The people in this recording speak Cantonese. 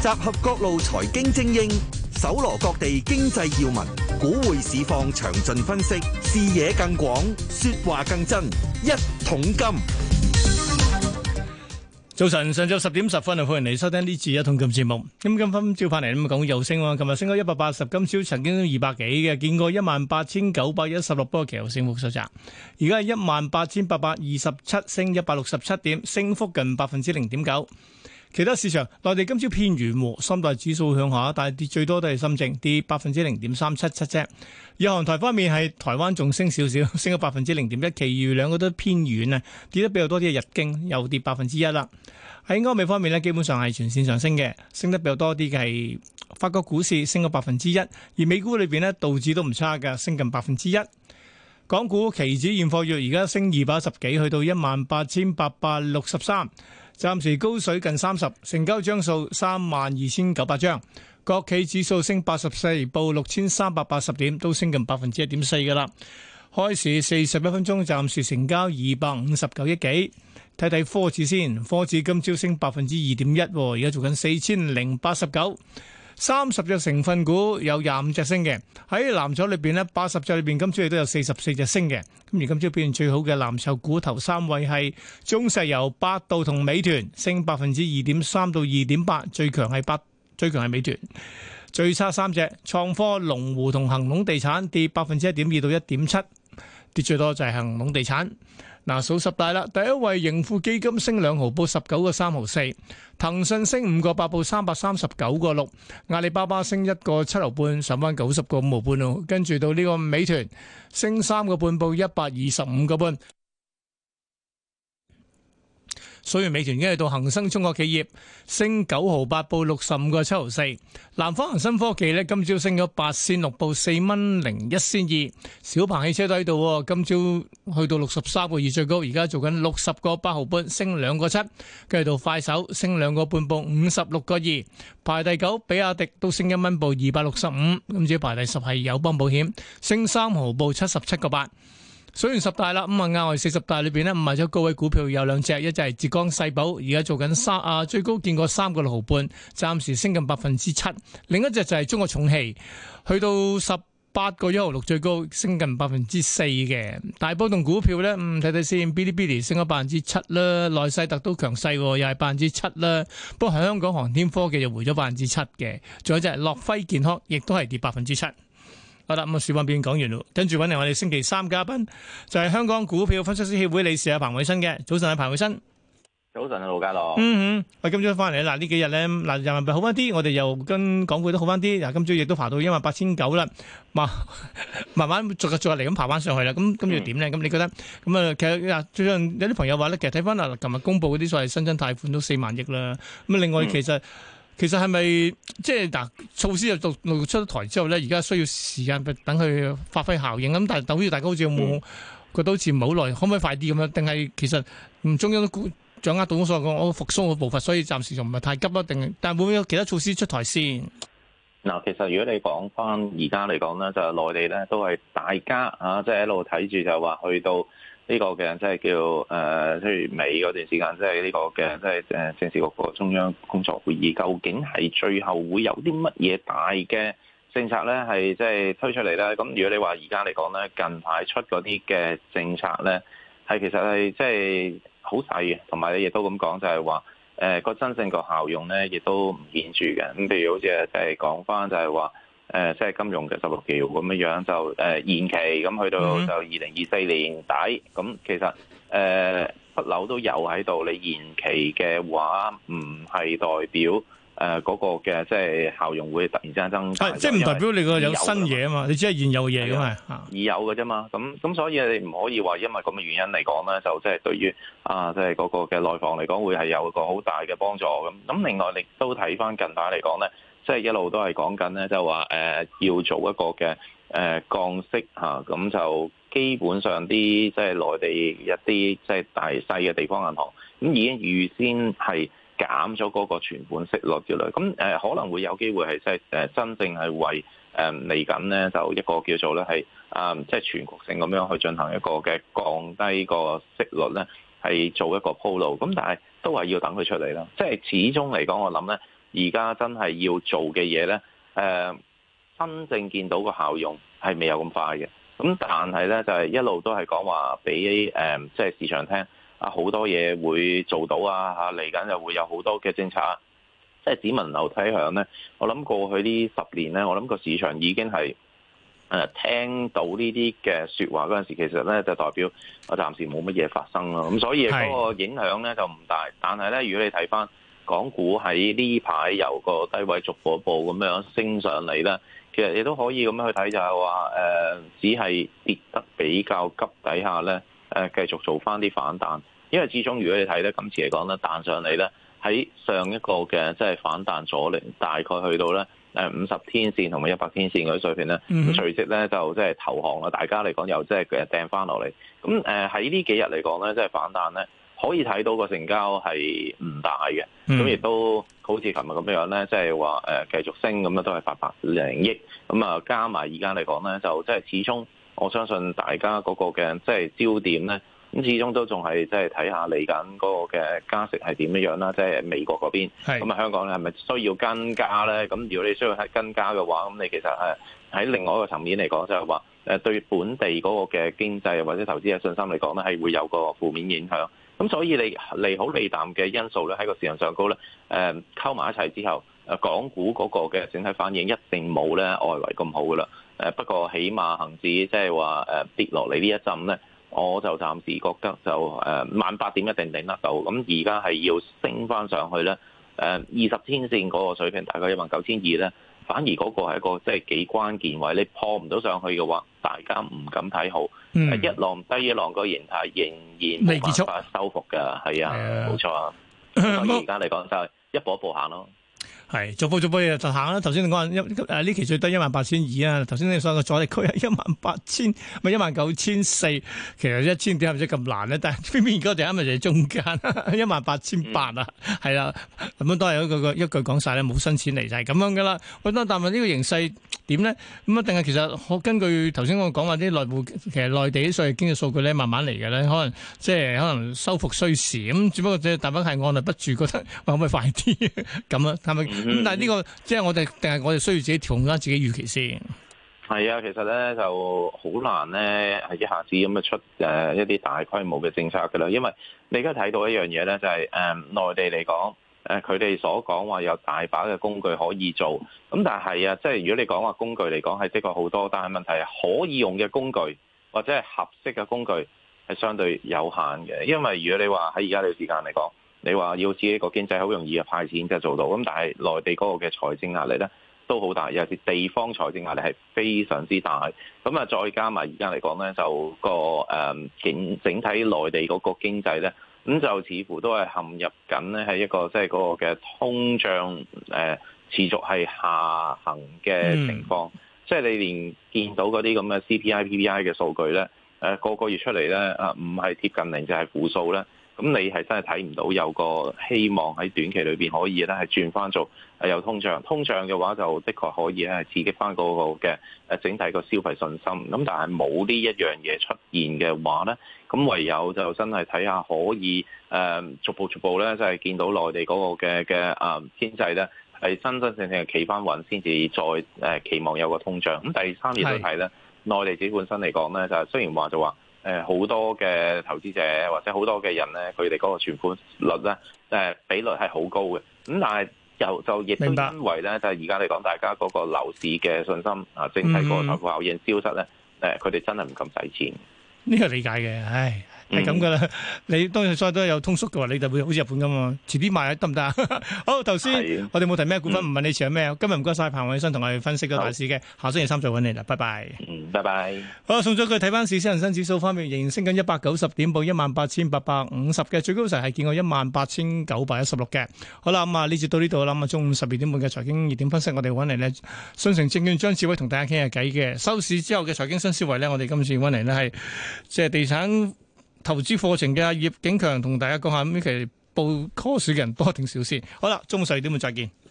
集合各路財經精英，搜羅各地經濟要聞，股匯市況詳盡分析，視野更廣，說話更真。一桶金。 早晨，上晝10點10分啊，歡迎嚟收聽呢次一桶金節目。咁今分照翻嚟咁講又升喎，琴日升咗180，今朝曾經200幾嘅，見過18,916，不過其後升幅收窄。而家係18,827，升167點，升幅近0.9%。其他市場，內地今朝偏軟，三大指數向下，但係跌最多都係深證，跌0.377啫。日韓台方面係台灣仲升少少，升咗0.1%，其餘兩個都偏軟啊，跌得比較多啲嘅日經又跌1%啦。喺歐美方面呢，基本上係全線上升嘅，升得比較多啲嘅係法國股市升咗1%，而美股裏邊呢，道指都唔差㗎，升近1%。港股期指現貨月而家升210幾，去到18,863。暫時高水近30，成交張數32,900張。國企指數升84，報6,380點，都升近1.4%㗎啦。開市41分鐘，暫時成交259億幾。睇睇科指先，科指今朝升2.1%，而家做緊4,089。30隻成分股有25隻升嘅，喺藍籌裏邊呢80隻裏邊今朝亦都有44隻升嘅。咁而今朝表現最好嘅藍籌股頭三位係中石油、百度同美團，升2.3%到2.8%，最強係美團。最差三隻創科、龍湖同恒隆地產跌1.2%到1.7%，跌最多就係恒隆地產。嗱，數十大啦，第一位盈富基金升2毫，報19.3毫4；騰訊升5個8，報339個6；阿里巴巴升1個7毫半，上翻90個5毫半咯。跟住到呢個美團升3個半，報125個半。所以美團已經係到恒生中國企業升9毫8，報65個7毫4。南方恒生科技呢，今朝升咗8仙6，報4蚊01仙2。小鵬汽車都喺度，今朝去到63個2最高，而家做緊60個8毫半，升2個7。跟住到快手升2個半，報56個2。排第9，比亞迪都升1蚊，報265。今朝排第10係友邦保險，升3毫，報77個8。數完十大啦，咁啊額外40大裏邊呢，賣咗高位股票有兩隻，一隻係浙江世寶，而家做緊最高見過3個6毫半，暫時升近7%。另一隻就係中國重汽，去到18個1毫6最高，升近4%嘅。大波動股票呢，睇睇先，嗶哩嗶哩升咗7%啦，內世特都強勢，又係7%啦。不過香港航天科技就回咗7%嘅，仲有隻樂輝健康，亦都係跌7%。好啦，咁啊，市況變講完咯，跟住揾嚟我哋星期三嘉賓，就係香港股票分析師協會理事彭偉新嘅。早晨啊，彭偉新。 早晨啊，盧家樂。 喂，今朝翻嚟嗱，呢幾日咧，嗱，人民幣好翻啲，我哋又跟港股都好翻啲。嗱，今朝亦都爬到18,900啦，慢慢逐日嚟咁爬翻上去啦。咁跟住點咧？咁你覺得咁啊？其實最近有啲朋友話咧，其實睇翻嗱，琴日公布嗰啲所謂新增貸款都4萬億啦。咁另外其實係咪即係嗱，措施就陸續出咗台之後咧，而家需要時間等佢發揮效應咁，但係等於大家好似有冇覺得好似唔係好耐，可唔可以快啲咁樣？定係其實中央都掌握到所謂我復甦嘅步伐，所以暫時仲唔係太急啊？定但係會唔會有其他措施出台先？ 嗱，其實如果你講翻而家嚟講咧，就係內地咧都係大家即係一路睇住就話去到呢個嘅即係叫七月尾嗰段時間，即係呢個嘅即係政治局個中央工作會議，究竟係最後會有啲乜嘢大嘅政策咧，係即係推出嚟咧？咁如果你話而家嚟講咧，近排出嗰啲嘅政策咧，係其實係即係好細嘅，同埋你亦都咁講就係話個真正個效用咧，亦都唔顯著嘅。咁譬如好似就係講翻就係話即係金融嘅16條咁樣樣就延期，咁去到就2024年底。咁其實不嬲都有喺度，你延期嘅話唔係代表嗰個嘅即係效用會突然之間增加， 即係唔代表你個有新嘢啊嘛，你只係現有嘅嘢咁係已有嘅啫嘛。咁所以你唔可以話因為咁嘅原因嚟講咧，就即係對於即係嗰個嘅內房嚟講會係有一個好大嘅幫助咁。咁另外你都睇翻近排嚟講咧，即係一路都係講緊咧，就話要做一個嘅降息嚇，咁就基本上啲即係內地一啲即係大細嘅地方銀行咁已經預先係減咗嗰個存款息率之類，咁可能會有機會係即係真正係為嚟緊咧就一個叫做咧係即係全局性咁樣去進行一個嘅降低個息率咧，係做一個鋪路。咁但係都係要等佢出嚟啦。即係始終嚟講，我諗咧而家真係要做嘅嘢咧，真正見到個效用係未有咁快嘅。咁但係咧就係一路都係講話俾即係市場聽啊，好多嘢會做到啊嚇，嚟緊就會有好多嘅政策，即係只聞樓梯響咧。我諗過去呢10年咧，我諗個市場已經係聽到呢啲嘅説話嗰陣時，其實咧就代表我暫時冇乜嘢發生咯。咁所以嗰個影響咧就唔大。但係咧，如果你睇翻港股喺呢排由個低位逐步咁樣升上嚟咧，其實你都可以咁樣去睇，就係話只係跌得比較急底下咧，繼續做翻啲反彈。因為始終如果你睇咧，今次嚟講咧彈上嚟咧，喺上一個嘅即係反彈阻力，大概去到咧50天線同埋100天線嗰啲水平咧，咁隨即咧就即係投降啦。大家嚟講又即係掟翻落嚟。咁喺呢幾日嚟講咧，即係反彈咧，可以睇到個成交係唔大嘅。咁亦都好似琴日咁樣咧，即係話繼續升咁樣都係800億。咁啊加埋而家嚟講咧，就即係始終我相信大家嗰個嘅即係焦點咧。咁始終都仲係即係睇下嚟緊嗰個嘅加息係點樣啦，即係美國嗰邊。咁啊香港咧係咪需要跟加咧？咁如果你需要係跟加嘅話，咁你其實喺另外一個層面嚟講，就係話對本地嗰個嘅經濟或者投資嘅信心嚟講咧，係會有個負面影響。咁所以你利好利淡嘅因素咧喺個市場上高咧，溝埋一齊之後，港股嗰個嘅整體反應一定冇咧外圍咁好噶啦。不過起碼恆指即係話跌落嚟呢一陣咧。我就暫時覺得就18000點一定頂得到，咁而家係要升翻上去咧，20天線嗰個水平大概19200咧，反而嗰個係一個即係幾關鍵位，你破唔到上去嘅話，大家唔敢睇好，一浪低一浪個形態仍然冇辦法收復㗎，係啊，冇錯啊，所以而家嚟講就係一步一步行咯。 係逐步嘢就行啦。頭先你講呢期最低18200啊，頭先你所講嘅阻力區係18000，咪19400。其實1000點係咪真咁難咧？但係偏偏而家就啱咪就係中間18800啊，係啦。咁樣都係一句講晒咧，冇新錢嚟就係咁樣噶啦。喂，但係呢個形勢點咧？咁啊，定係其實我根據頭先我講話啲內部，其實內地啲所謂經濟數據咧，慢慢嚟嘅咧，可能即係可能收復需時咁，只不過即係大家係按捺不住，覺得可唔可以快啲咁啊？係咪？咁但係呢個即係我哋定係我哋需要自己調控翻自己預期先。 係啊，其實咧就好難咧，係一下子咁樣出一啲大規模嘅政策㗎啦。因為你而家睇到一樣嘢咧，就係內地嚟講，佢哋所講話有大把嘅工具可以做。咁但係即係如果你講話工具嚟講係的確好多，但係問題係可以用嘅工具或者係合適嘅工具係相對有限嘅。因為如果你話喺而家呢個時間嚟講，你話要自己個經濟好容易嘅派錢就做到，咁但係內地嗰個嘅財政壓力咧都好大，尤其是地方財政壓力係非常之大。咁啊，再加埋而家嚟講咧，就個整體內地嗰個經濟咧，咁就似乎都係陷入緊咧係一個即係嗰個嘅通脹持續係下行嘅情況。即係你連見到嗰啲咁嘅 CPI、PPI 嘅數據咧，個月出嚟咧唔係貼近零就係負數咧。咁你係真係睇唔到有個希望喺短期裏邊可以咧係轉翻做有通脹。通脹嘅話就的確可以咧係刺激翻嗰個嘅整體個消費信心。咁但係冇呢一樣嘢出現嘅話咧，咁唯有就真係睇下可以逐步咧，即係見到內地嗰個嘅經濟咧係真真正正企翻穩，先至再期望有個通脹。咁第三亦都係咧，內地自己本身嚟講咧，就係雖然話就話。好多嘅投資者或者好多嘅人咧，佢哋嗰個存款率咧，比率係好高嘅。咁但係就亦都因為咧，就係而家嚟講，大家嗰個樓市嘅信心啊，整體個財富效應消失咧，佢哋真係唔敢使錢。呢個理解嘅，唉。係咁噶啦，你當然所有都有通縮嘅話，你就會好似日本咁嘛，遲啲買得唔得啊？好，頭先我哋冇提咩股份，唔問你持有咩。今日唔該晒彭偉新同我哋分析個大市嘅，下星期三再揾你啦，拜拜。 拜拜。 好，送咗佢睇翻市，恒生指數方面仍然升緊190點，報18850嘅，最高時係見過18916嘅。好啦，咁啊呢節到呢度啦，咁啊中午12點半嘅財經熱點分析，我哋揾嚟呢信誠證券張志偉同大家傾下偈嘅。收市之後嘅財經新思維呢，我哋今次揾嚟呢係即係地產投資課程嘅葉景強同大家講下，咁其實報 course 嘅人多定少先。好啦，中午12點半再見。